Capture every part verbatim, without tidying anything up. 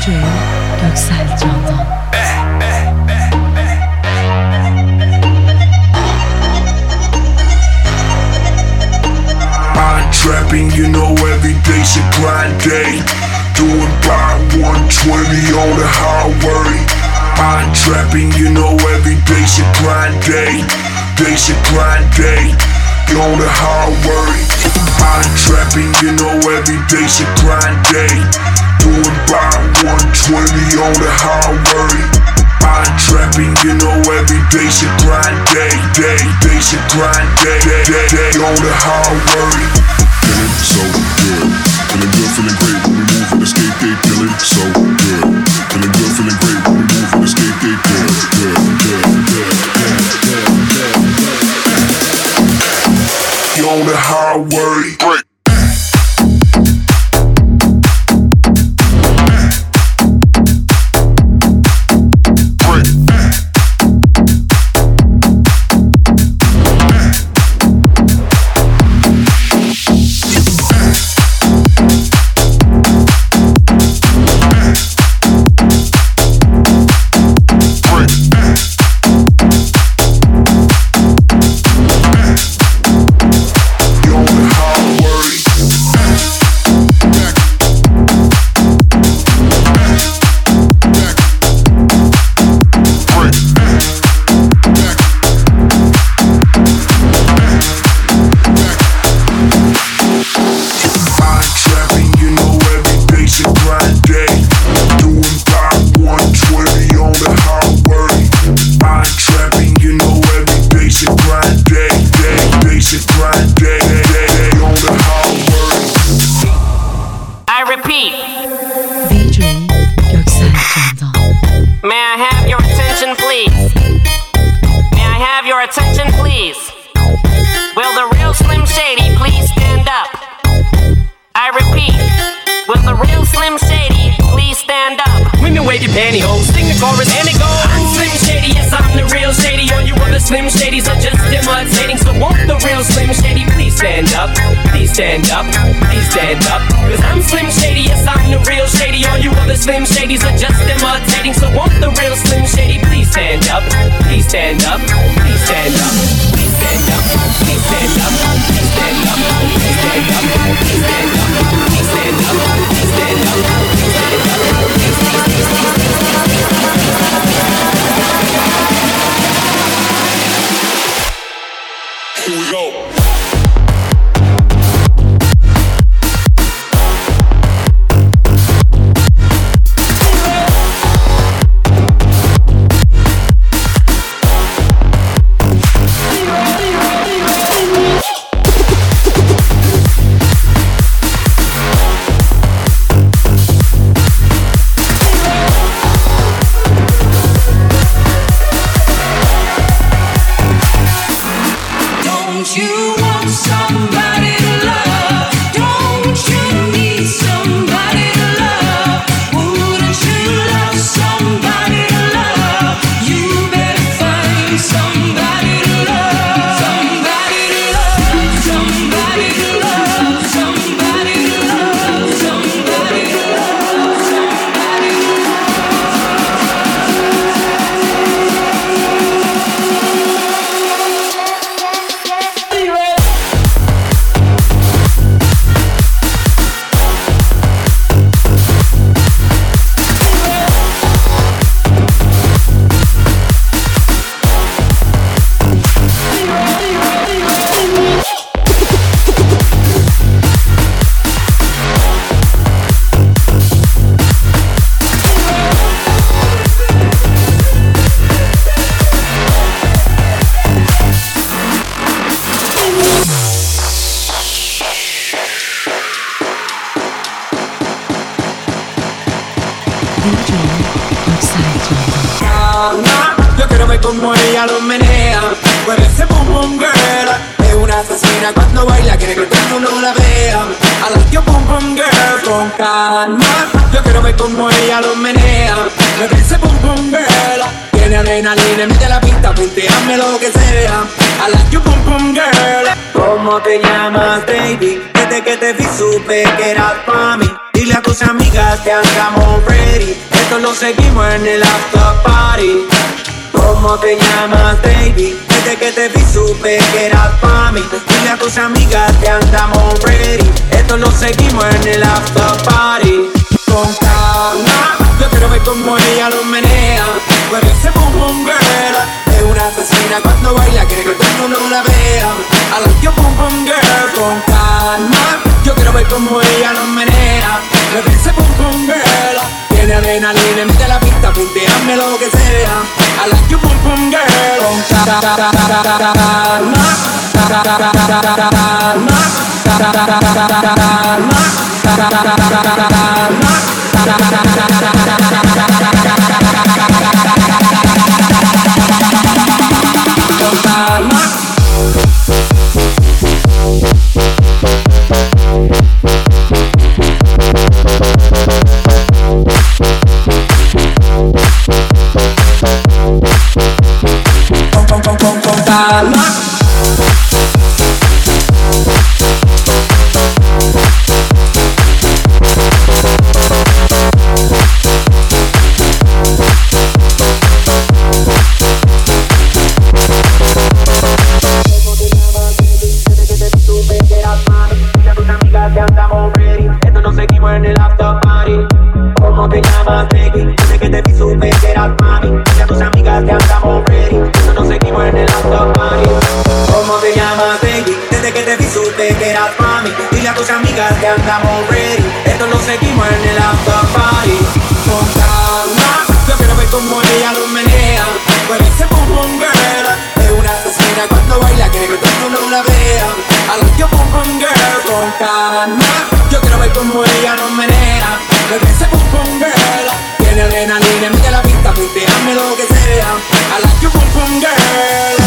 D J Göksel Candan. I'm trapping, you know every day's a grind day. Doing by one twenty on the highway. I'm trapping, you know every day's a grind day. Day's a grind day on the highway. I'm trapping, you know every day's a grind day. Doing by one twenty on the highway. I'm trapping, you know every day's a grind day. Day, day's a grind day, day, day, day on the highway. Feeling so good, feeling good, feeling great when we move and escape gate. Feeling so good, feeling good, feeling great when we move and escape gate. Good, good, good, good, good, good, good, good. You on the highway. Break. Attention please. Will the real Slim Shady please stand up? I repeat, will the real Slim Shady please stand up? Women wave your pantyhose, sing the chorus and it goes. I'm Slim Shady, yes I'm the real Shady. All you other Slim Shadys are just imitating. So won't the real Slim Shady please stand up? Please stand up, please stand up. Cause I'm Slim Shady, yes I'm the real Shady. All you other Slim Shadys are just imitating. So won't the real Slim Shady please stand up? Please stand up, please stand up. Please stand up, please stand up. Please stand up, please stand up. Please stand up, please stand up. Please stand up, please stand up. Please, please, please, please, please, please, please. Here we go. Yo quiero ver cómo ella lo menea. Mueve ese pum pum girl. Es una asesina cuando baila, quiere que todo el mundo la vea. I like your pum pum girl con calma. Yo quiero ver cómo ella lo menea. Mueve ese pum pum girl. Tiene adrenalina, mete la pista, punteame lo que sea. I like your pum pum girl. ¿Cómo te llamas, baby? Desde que te vi supe que eras pa' mí. Dile a tu tus amigas que andamos ready. Esto lo seguimos en el after party. ¿Cómo te llamas, baby? Desde que te vi supe que eras pa' mí. Dile a tus amigas que andamos ready. Esto lo seguimos en el after party. Con calma, yo quiero ver cómo ella lo menea. Con ese boom boom girl, es una asesina cuando baila, quiere que todo el mundo la vea. I like your boom boom girl. Con calma, yo quiero ver cómo ella lo menea. Con ese boom boom girl, tiene adrenalina, mete la pista, punteame lo que sea. I like your boom boom girl. Con calma, que andamos ready. Esto lo seguimos en el after party. Con calma, yo quiero ver cómo ella lo menea. Con ese boom boom girl, es una asesina cuando baila, quiere que todo el mundo la vea. I like your boom boom girl. Con calma, yo quiero ver cómo ella lo menea. Con ese boom boom girl, tiene adrenalina, mete la pista, punteame lo que sea. I like your boom boom girl.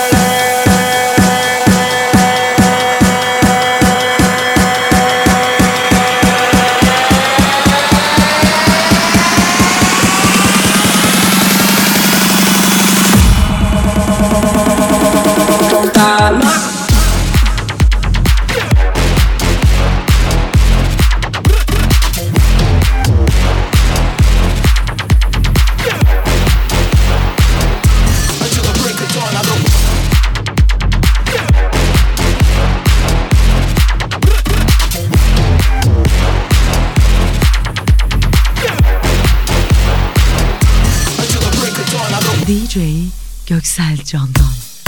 D J Göksel Candan.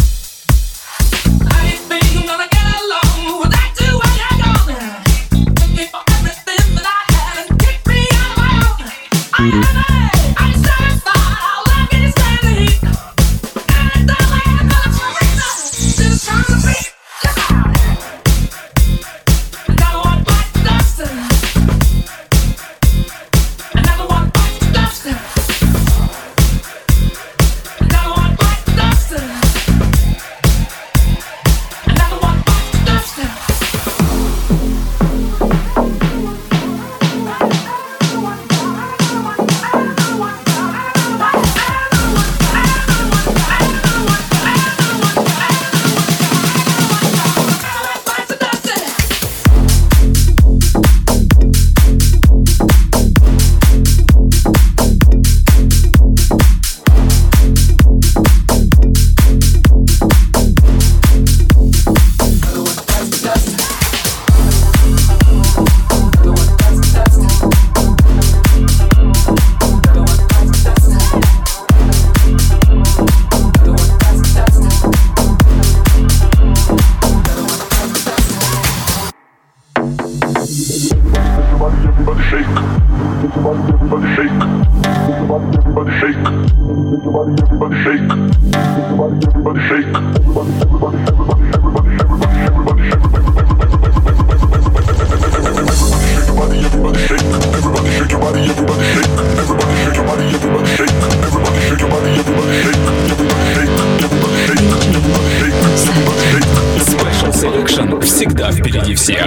Всегда впереди всех.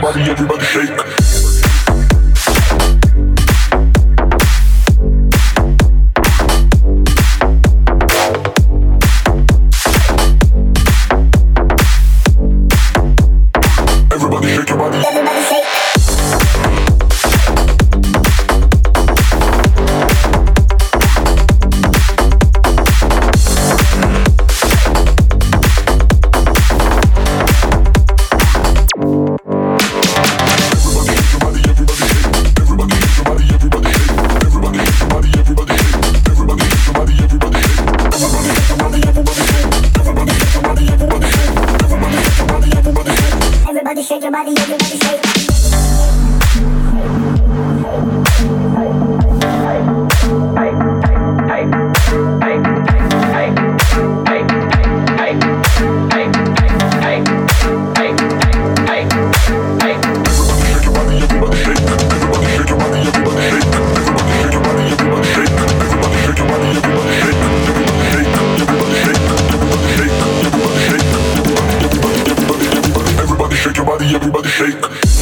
body, everybody shake. Everybody shake.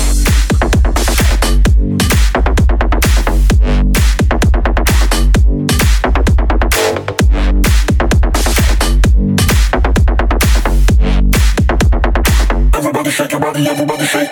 Everybody shake your body, everybody shake.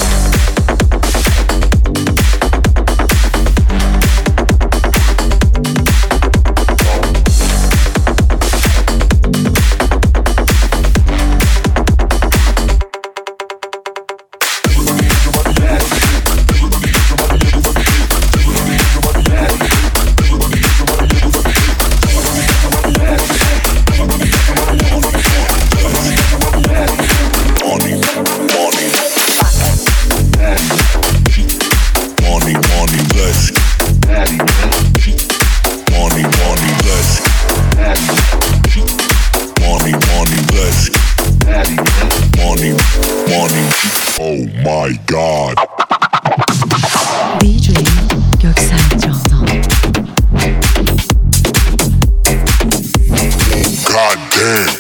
Oh my God. D J Göksel Candan. God damn.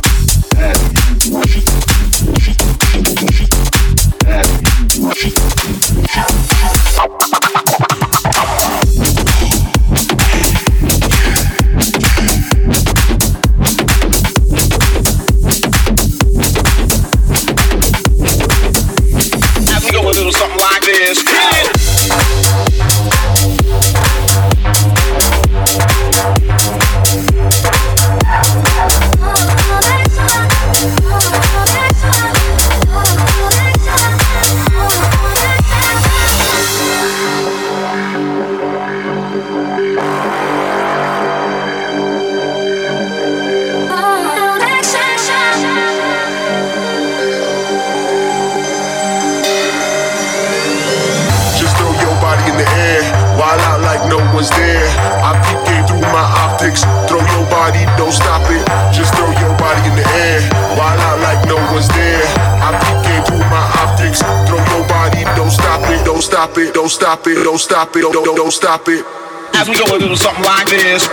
Was there. I peep game through my optics. Throw your body, don't stop it. Just throw your body in the air. While out like no one's there. I peep game through my optics. Throw your body, don't stop it. Don't stop it. Don't stop it. Don't stop it. Don't don't, don't stop it. As we go a little something like this.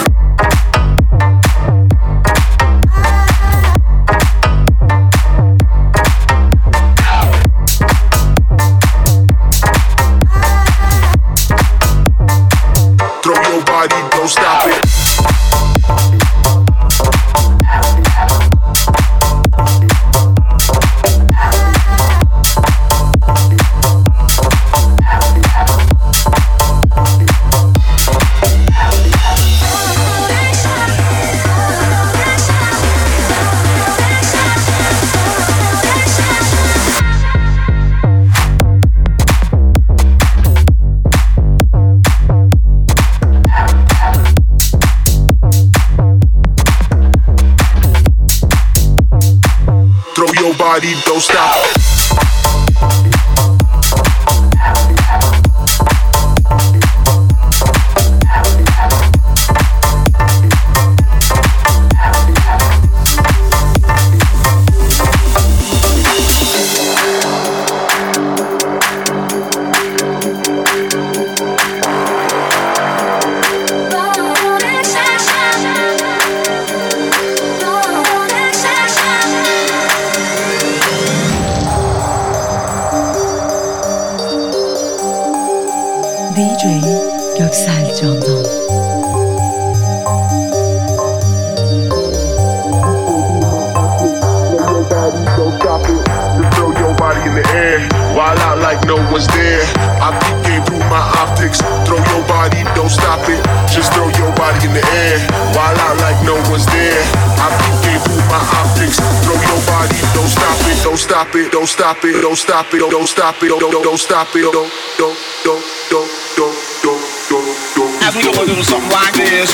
Don't stop it. Body, don't stop. D J Göksel Candan. Just throw your body in the air. While out like no one's there. I peep game through my optics. Throw your body, don't stop it. Just throw your body in the air. While out like no one's there. I peep game through my optics. Throw your body, don't stop it. Don't stop it. Don't stop it. Don't stop it. Don't stop it. Don't don't don't stop it. Don't don't don't don't don't don't don't don't. As we go a little something like this.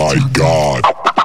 my God.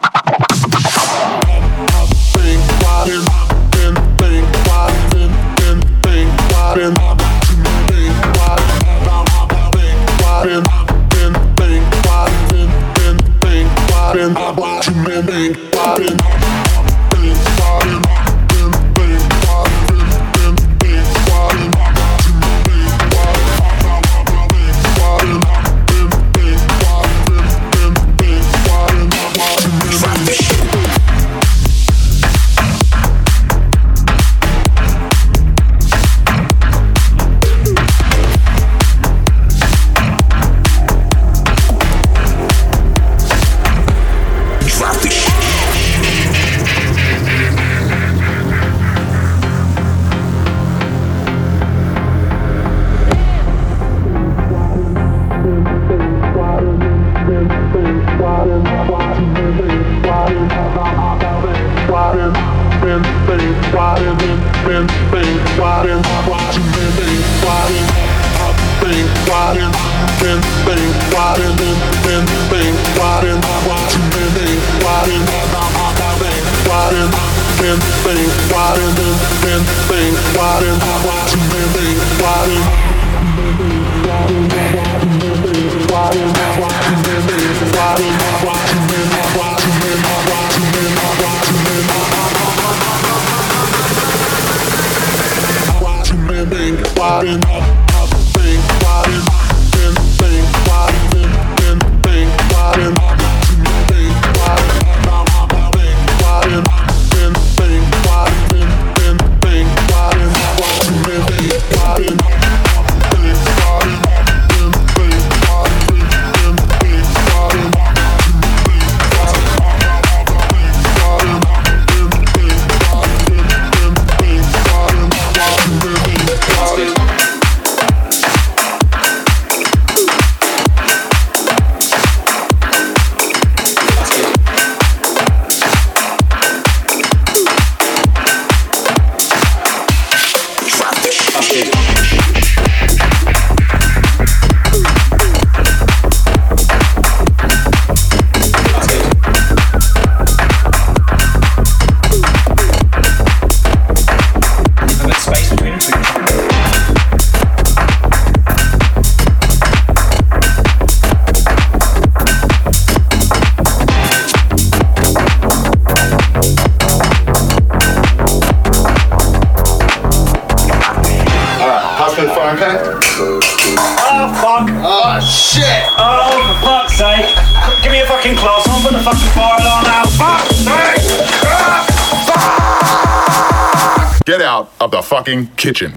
Get out of the fucking kitchen.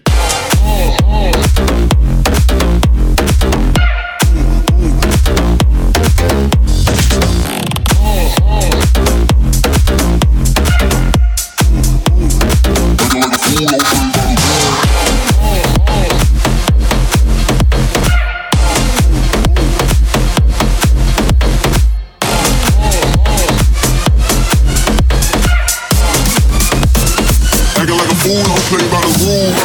Play by the rules.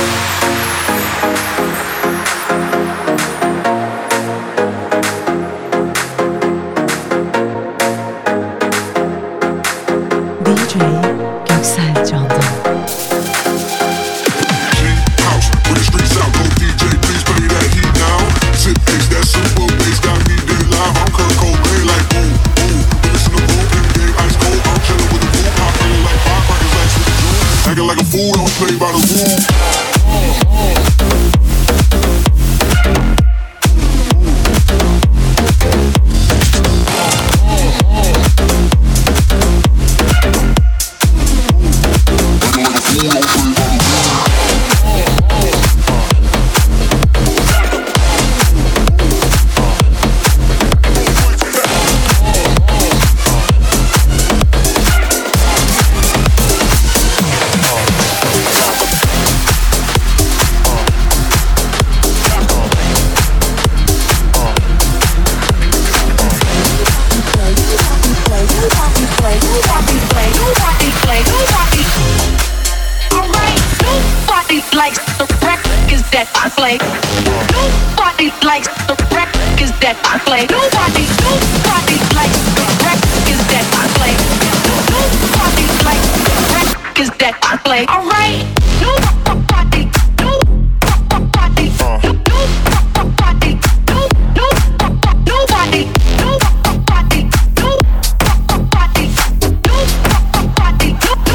D J Göksel Candan. House, where the streets out, go D J, please play that heat now. Sit bass, that super bass, got me dead live. I'm Kurt Cobain, like boom, boom. Listen to boom, in the game, ice cold. I'm chillin' with the boom, I'm feeling like firecrackers, like with the June. Acting like a fool, don't play by the rules. play. Nobody likes the records that I play. Nobody, nobody likes the records that I play. Alright, nobody, nobody, nobody, nobody, nobody, nobody, nobody, nobody, nobody,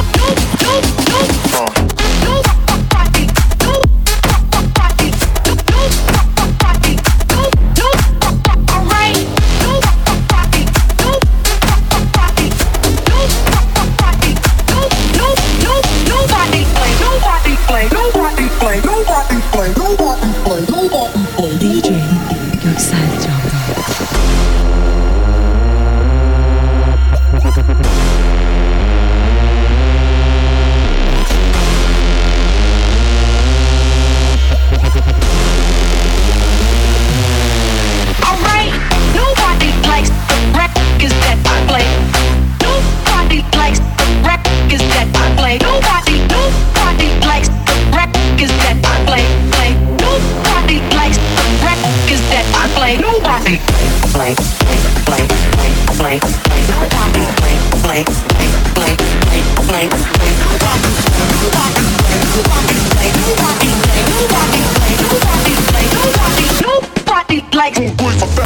D J Göksel Candan. Alright, nobody likes the records that I play. Nobody likes the records that I play. Nobody, nobody likes the records that I play. Play. Nobody likes the records that I play. Nobody play, play, play, play, play, play. Nobody play, play, play, play, play, play, play. Nobody play, nobody play, nobody play, nobody play, nobody play, nobody play, nobody, nobody likes it.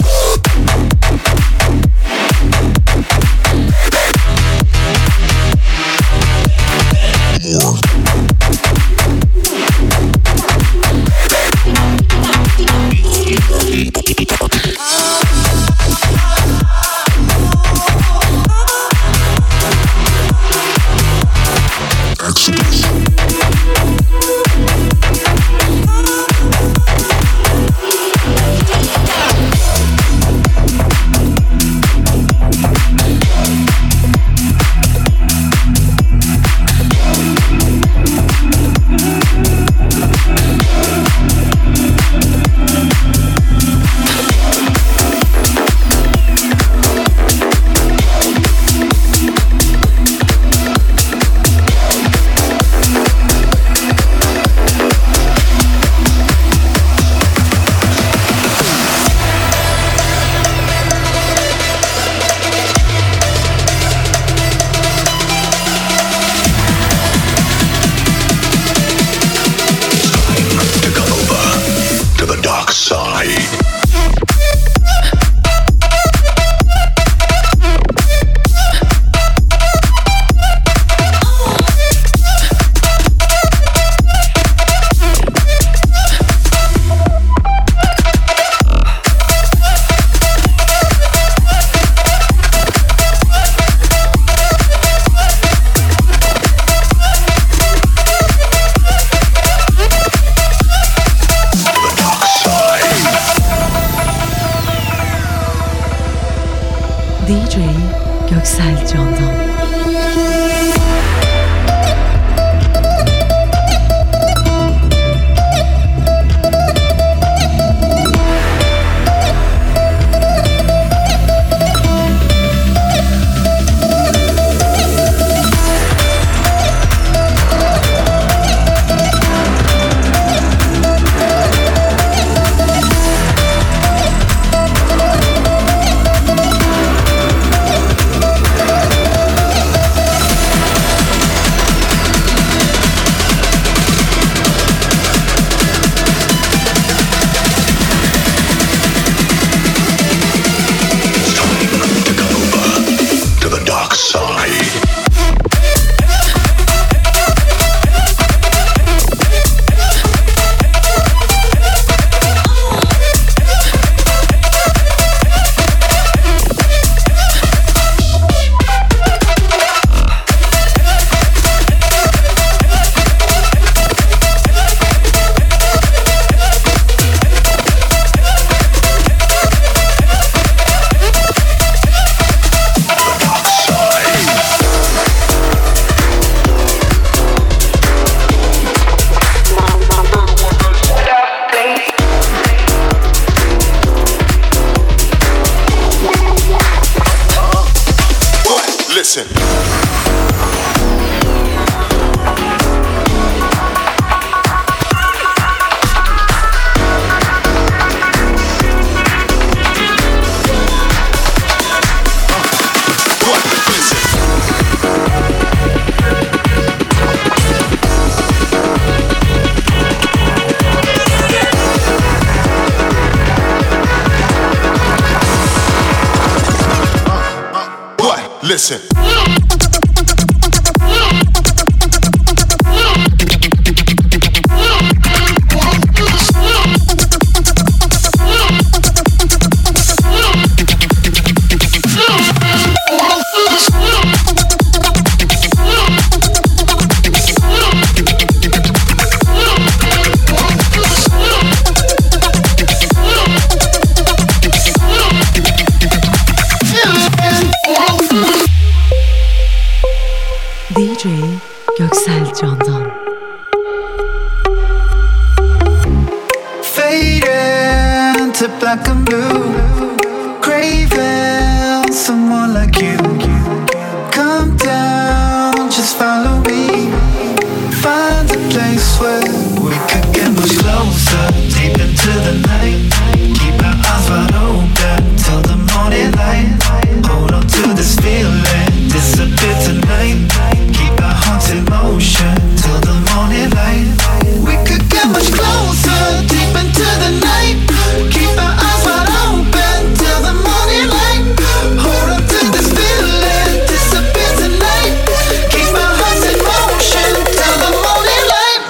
D J Göksel Candan. Listen. Listen. D J Göksel Candan. Fading to black and blue, craving someone like you. Come down, just follow me. Find a place where we could get much closer, deep into the night. Keep our eyes wide open till the morning light. Hold on to this feeling, disappear tonight. Keep our hearts in motion till the morning light. We could get much closer, deep into the night. Keep our eyes wide open till the morning light. Hold on to this feeling, disappear tonight. Keep our hearts in motion till the morning light.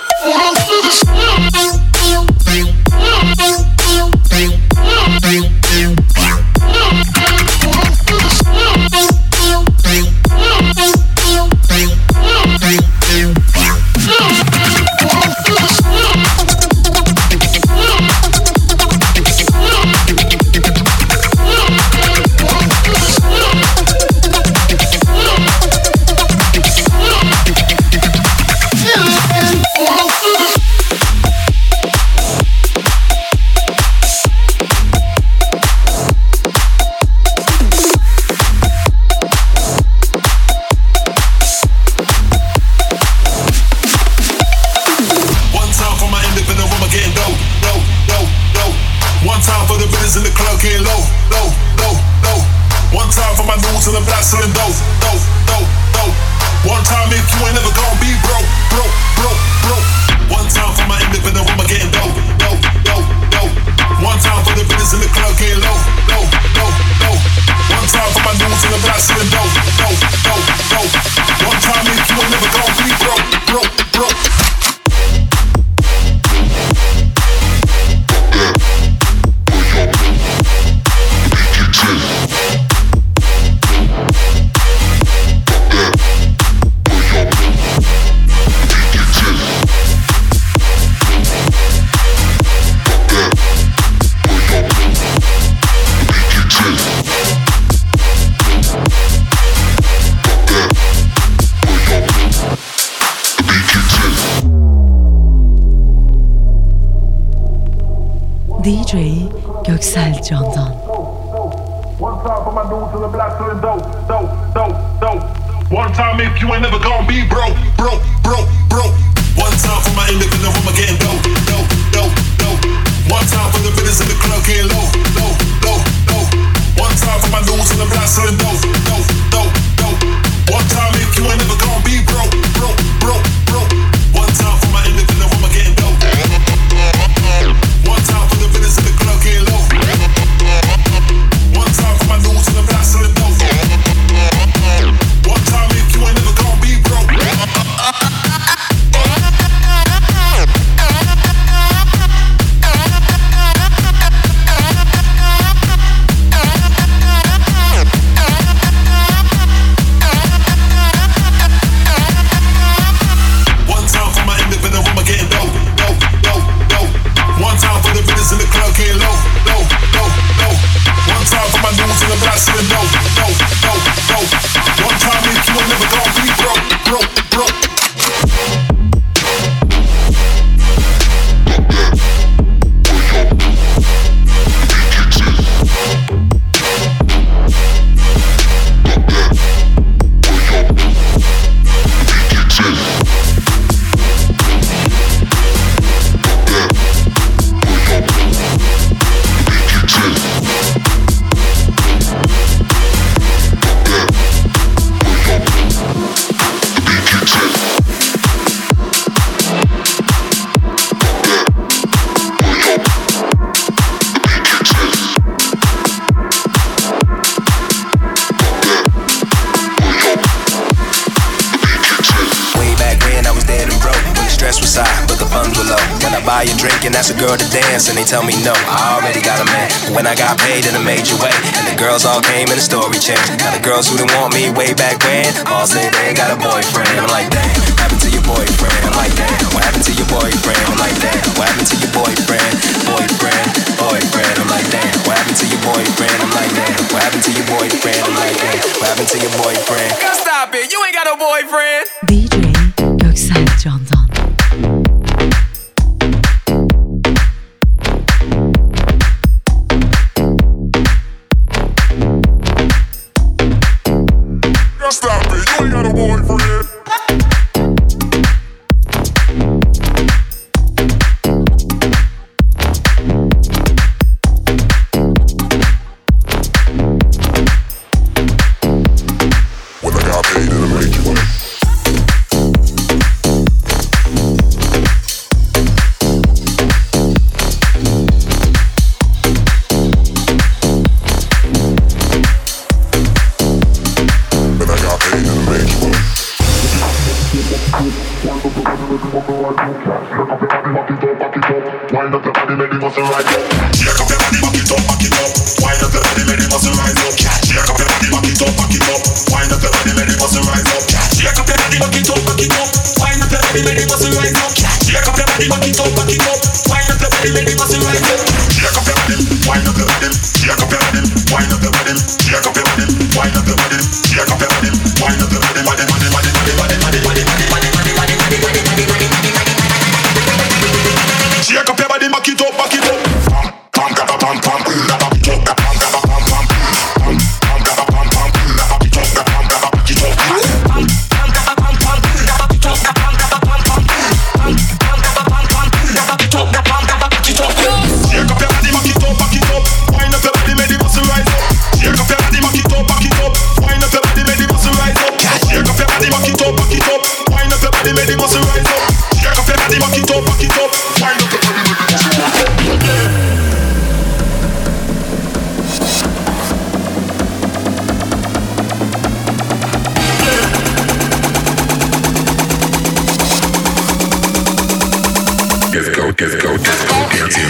D J Göksel Candan. One time for my dudes in the black selling dope, dope, dope, dope. One time if you ain't never gonna be broke, broke, broke, broke. One time for my independent woman getting dope, dope, dope, dope. One time for the bidders in the club getting low, low, low, low. One time for my dudes in the black selling dope, dope, dope, dope. One time if you ain't never gonna be broke, broke, broke, broke. One time for my independent woman getting dope. One time for the bidders in the club getting low. One time for my dudes in the black selling dope. One time if you ain't never gonna be broke. buy a drink and ask a girl to dance, and they tell me no, I already got a man. But when I got paid in a major way, and the girls all came and the story changed. Now the girls who didn't want me way back when all say they ain't got a boyfriend. I'm like, damn, what happened to your boyfriend? I'm like, damn, what happened to your boyfriend? I'm like, damn, what happened to your boyfriend? Boyfriend, boyfriend. I'm like, damn, what happened to your boyfriend? I'm like, damn, what happened to your boyfriend? I'm like, damn, what happened to your boyfriend? Girl, stop it, you ain't got no boyfriend. D J Göksel Candan. Stop it, you ain't got a boyfriend. When I got paid in a major way. Wind up your body, make the muscle rise up. Shake up your body, back it up, back it up. Wind up your body, make the muscle rise up. Shake up your body, back it up, back it up. Wind up your body, make the muscle rise up. Shake up your body, back it up, back it up. Wind up your body, make the muscle rise up. Shake up your body, back it up, back it up. Wind up your body, make the muscle rise up. Shake up your body, wind up your body. Shake up your body, wind up your body. Shake up your body, wind up your body. Shake up your body, wind up your body. Body, body, body, body, body, body, body, body, body, body, body, body, body, body, body. Shake up your body, back it up, back it up. Pam, pam, pam, pam, pam, pam, pam, pam, pam, pam, pam, pam, pam, pam, pam, pam, pam, back it up, pam, back it up. Shake up your body, back it up, back it up. Wind up your body, make the muscle rise up. Shake up your body, back it up, back it up. Wind up your body, make the muscle rise up. Shake up your body, back it up, back it up. Wind up your body, make the muscle rise up. Shake up your body, back it up, back it up. Wind up your body, make the muscle rise up. Disco, disco, disco dancing.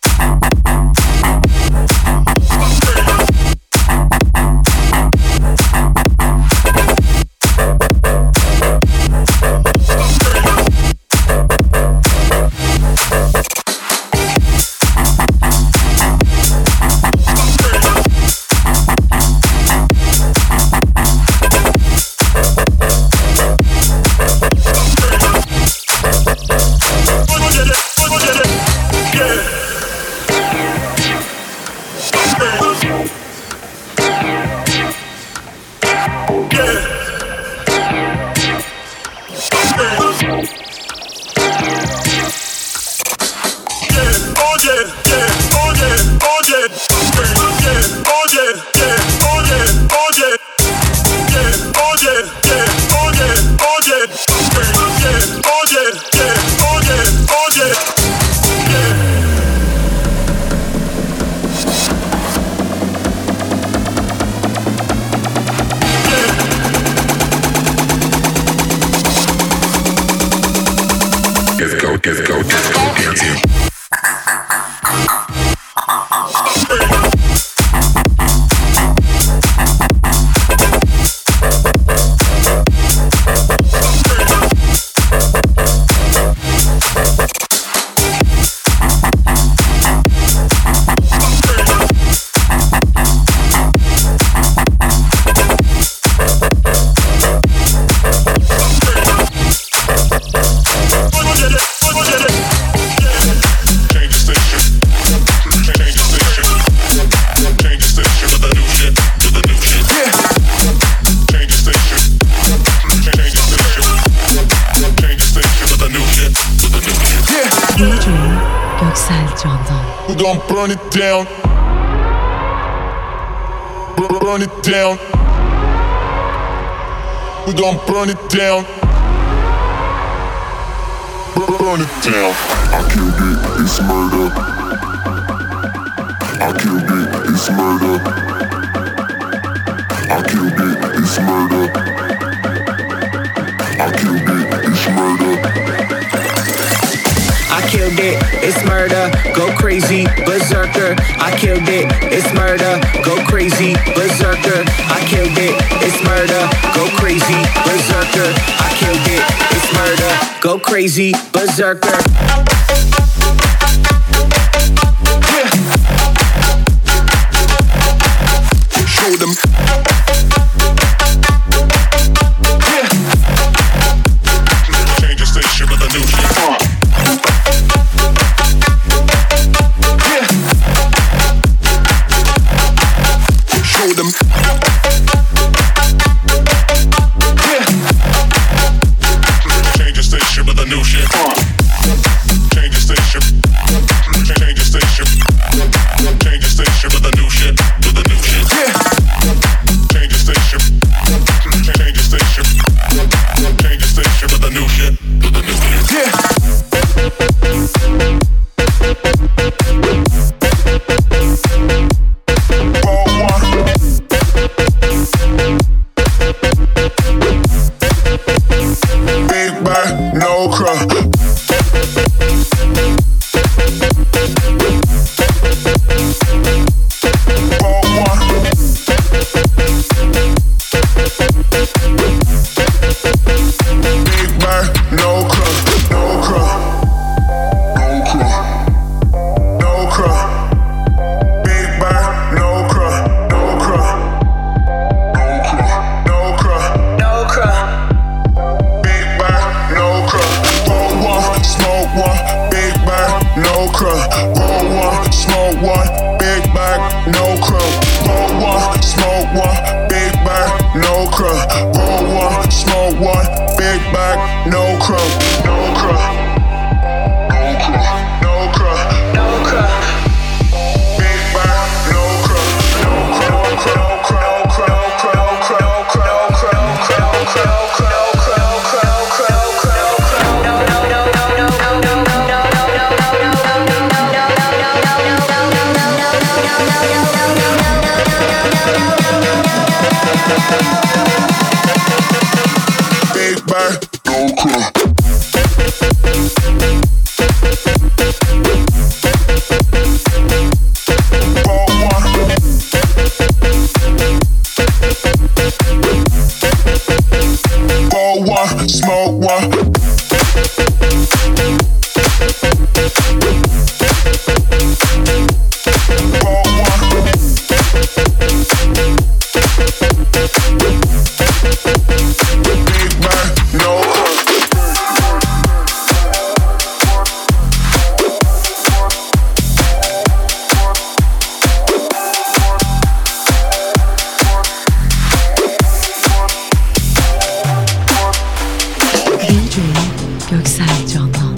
Disco, disco, disco dancing. D J Göksel Candan. We gon' burn it down. Burn, burn it down. We gon' burn it down. Burn, burn it down. I killed it, it's murder. I killed it, it's murder. I killed it, it's murder. I killed it, it's murder. I killed it, it's murder, go crazy, berserker. I killed it, it's murder, go crazy, berserker. I killed it, it's murder, go crazy, berserker. I killed it, it's murder, go crazy, berserker. Show them. Change the station with a new shit. Show them. Change the station with a new shit. Change the station. Change the station. Change the station with a new shit. With a new shit. Change the station. Change the station. Change the station with a new shit. With a new shit. Big bag, no crap. Göksel Candan.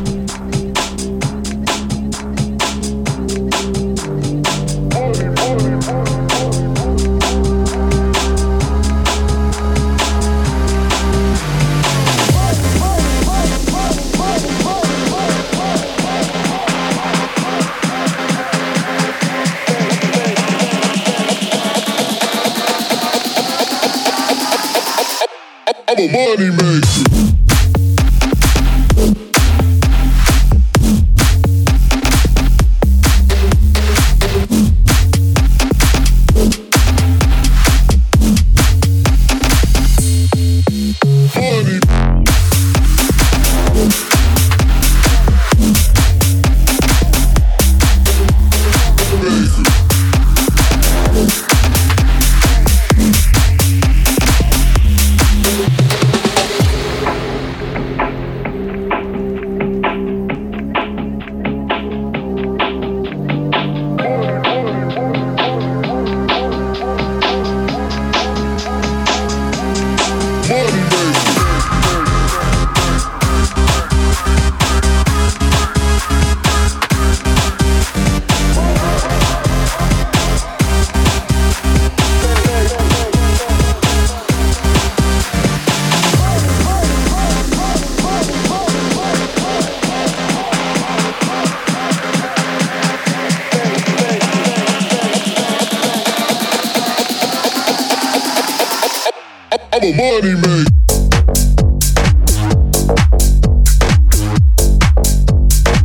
I'm a money maker. I'm a money maker.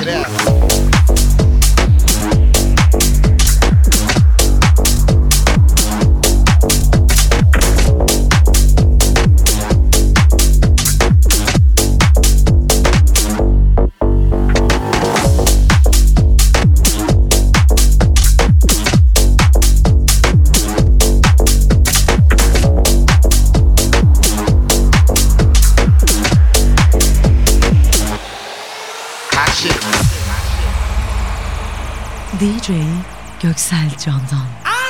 D J Göksel Candan.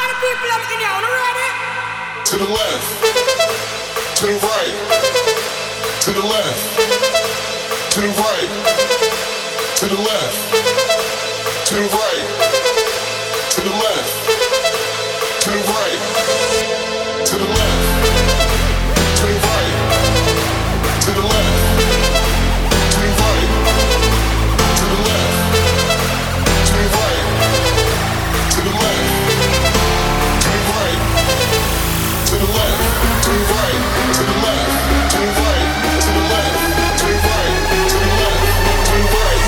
To the left, to the right, to the left, to the right, to the left, to the right, to the left, to the right, to the left, to the right, to the left, to the right, to the left, to the right, to the left, to the right. To the left, to the right, to the left, to the right, to the left, to the right, to the left, to the right.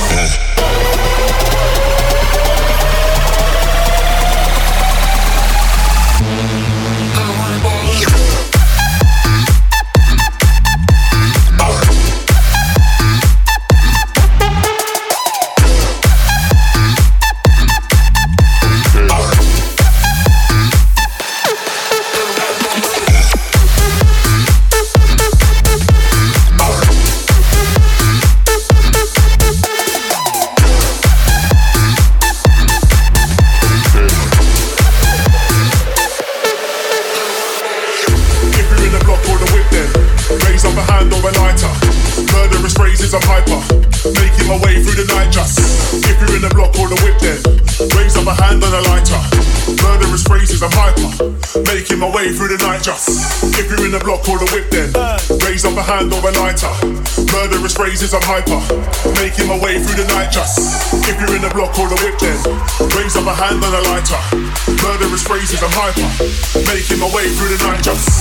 My way through the night just. If you're in the block or the whip then raise up a hand or a lighter. Murderous phrases, I'm hyper. Making my way through the night just. If you're in the block or the whip then raise up a hand and a lighter. Murderous phrases, I'm hyper. Making my way through the night just.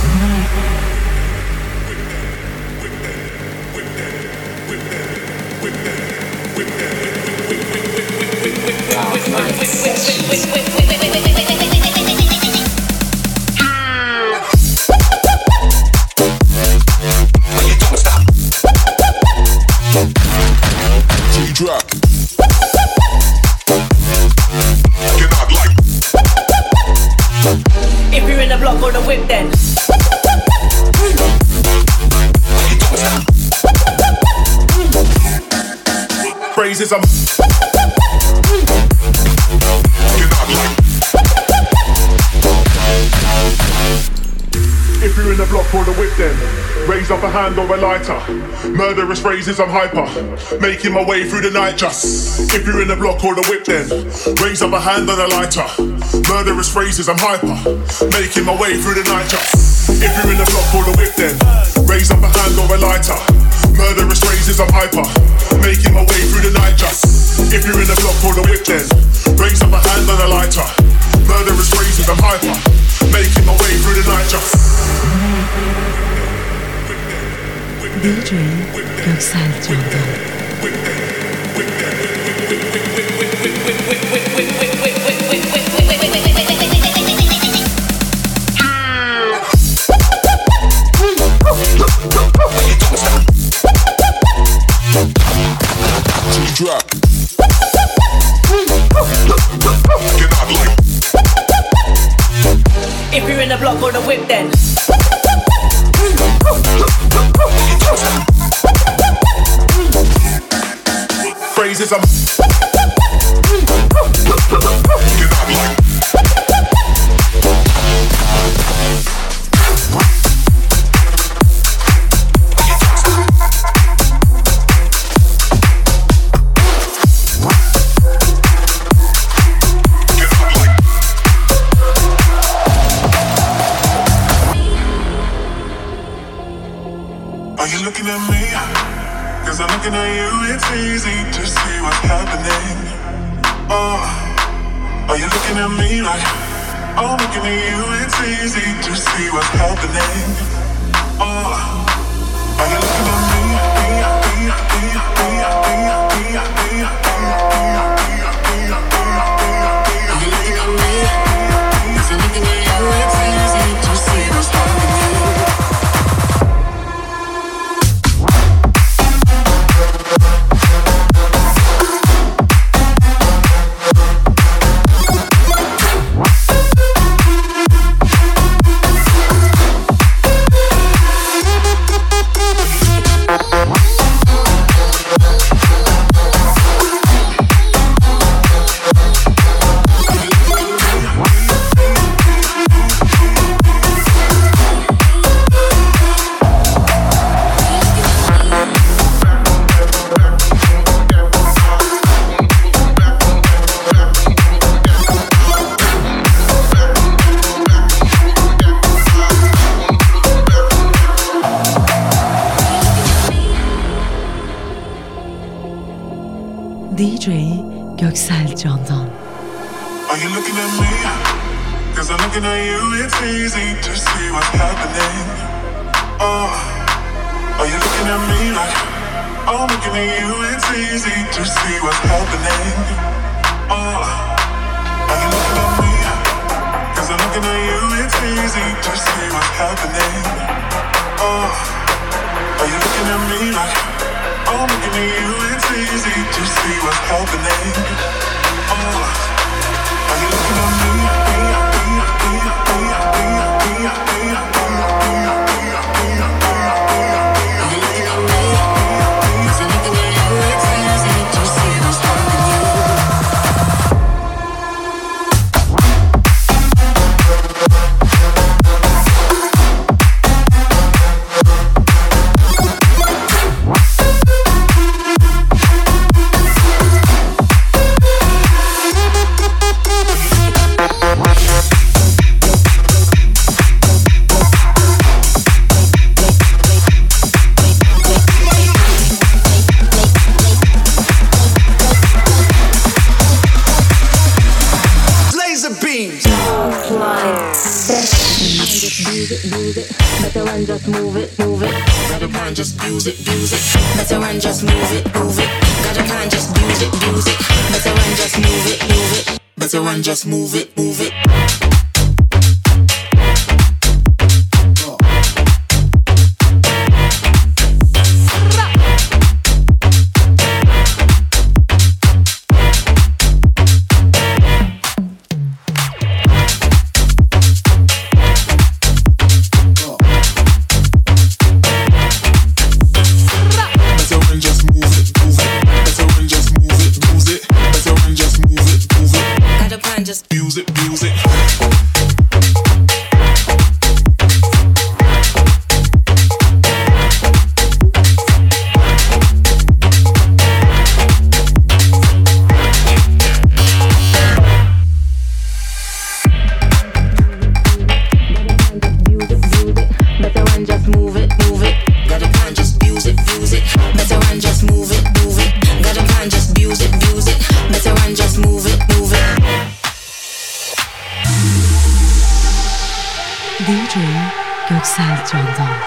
Drop. Cannot like. If you're in the block or the whip, then. Phrases I'm. Cannot like. If you're in the block or the whip, then raise up a hand or a lighter. Murderous phrases, I'm hyper. Making my way through the night just. If you're in the block or the whip then raise up a hand and a lighter. Murderous phrases, I'm hyper. Making my way through the night just. If you're in the block or the whip then raise up a hand or a lighter. Murderous phrases, I'm hyper. Making my way through the night just. If you're in the block or the whip then raise up a hand and a lighter. Murderous phrases, I'm hyper. Making my way through the night just. D J Göksel Candan. Drop. Cannot like. If you're in the block or the whip, then. Phrases I'm. Cannot like. Are you looking at me? Cause I'm looking at you, it's easy to see what's happening. Oh, are you looking at me like I'm looking at you, it's easy to see what's happening. Oh, are you looking at me? me, me, me, me, me, me, me, me. D J Göksel Candan. Are you looking at me? Cause I'm looking at you, it's easy to see what's happening. Oh, are you looking at me like I'm looking at you, it's easy to see what's happening. Oh, are you looking at me? Cause I'm looking at you, it's easy to see what's happening. Oh, are you looking at me like I'm looking at you, it's easy to see what's happening. Oh, are you looking at me? Just move it, move it. Grab a pan, just use it, use it. Better run, just move it, move it. Got a can, just use it, use it. Better run, just move it, move it. Better run, just move it, move it. D J Göksel Candan.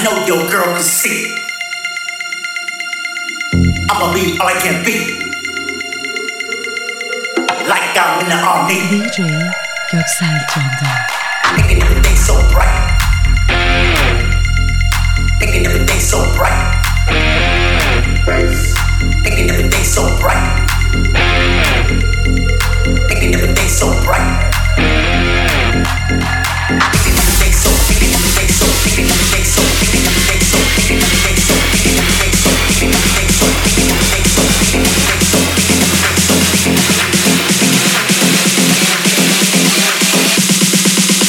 know your girl can see. I'ma be all I can be. Like I'm in the army. D J Göksel Candan. Making everything so bright. Making everything so bright. Making everything so bright. Making everything so bright. Making everything so, making everything so, making everything so, making everything so, making everything so, making everything so, making everything so, making everything so, making everything so, making everything so, making everything so.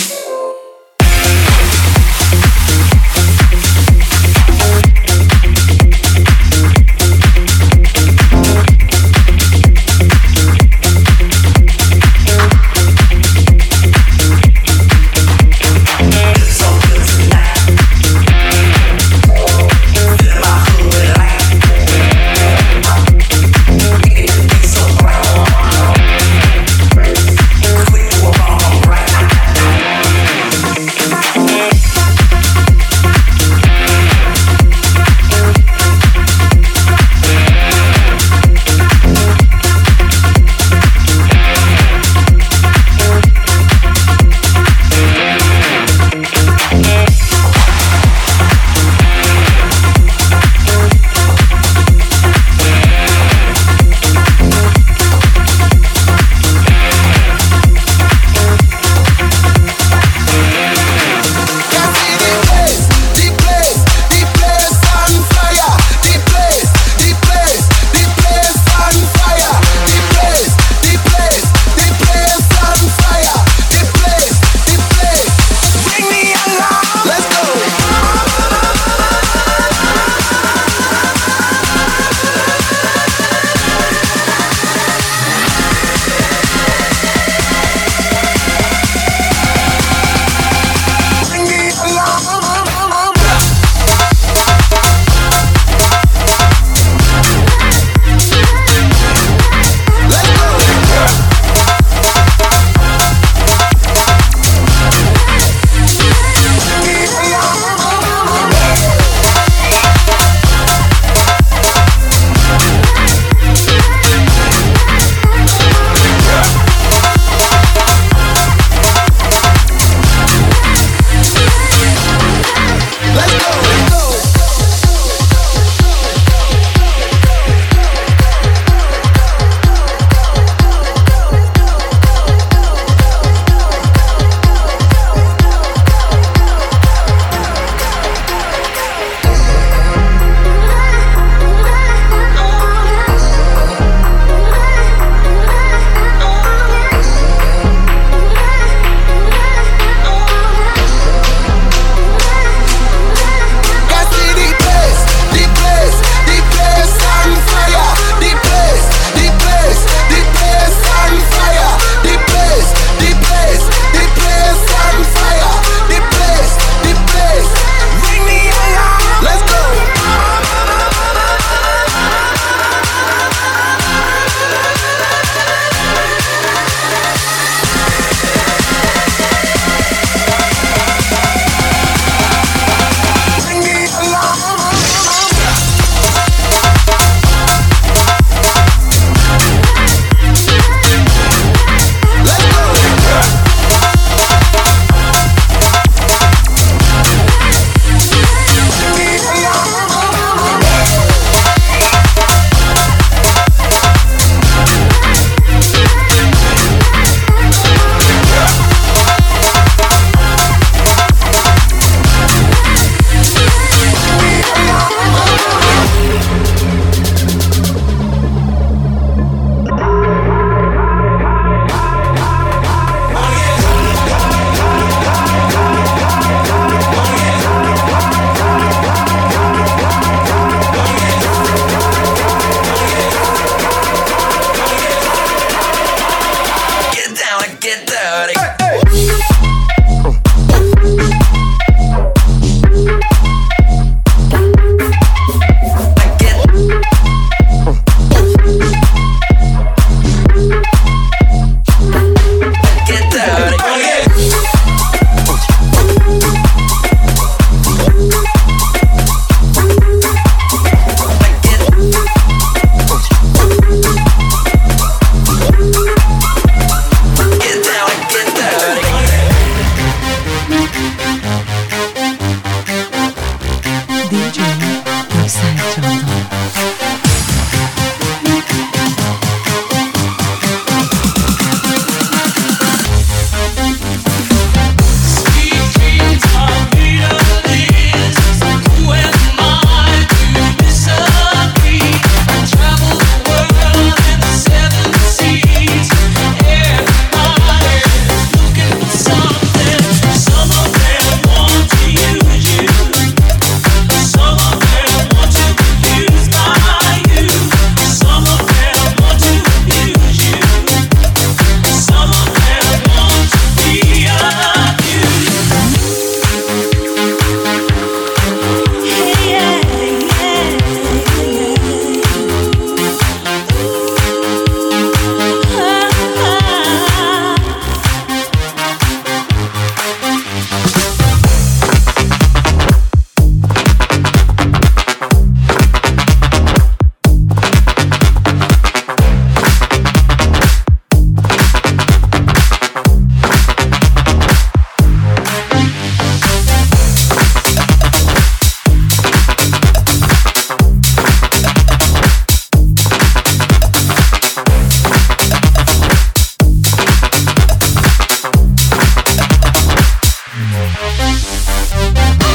Thank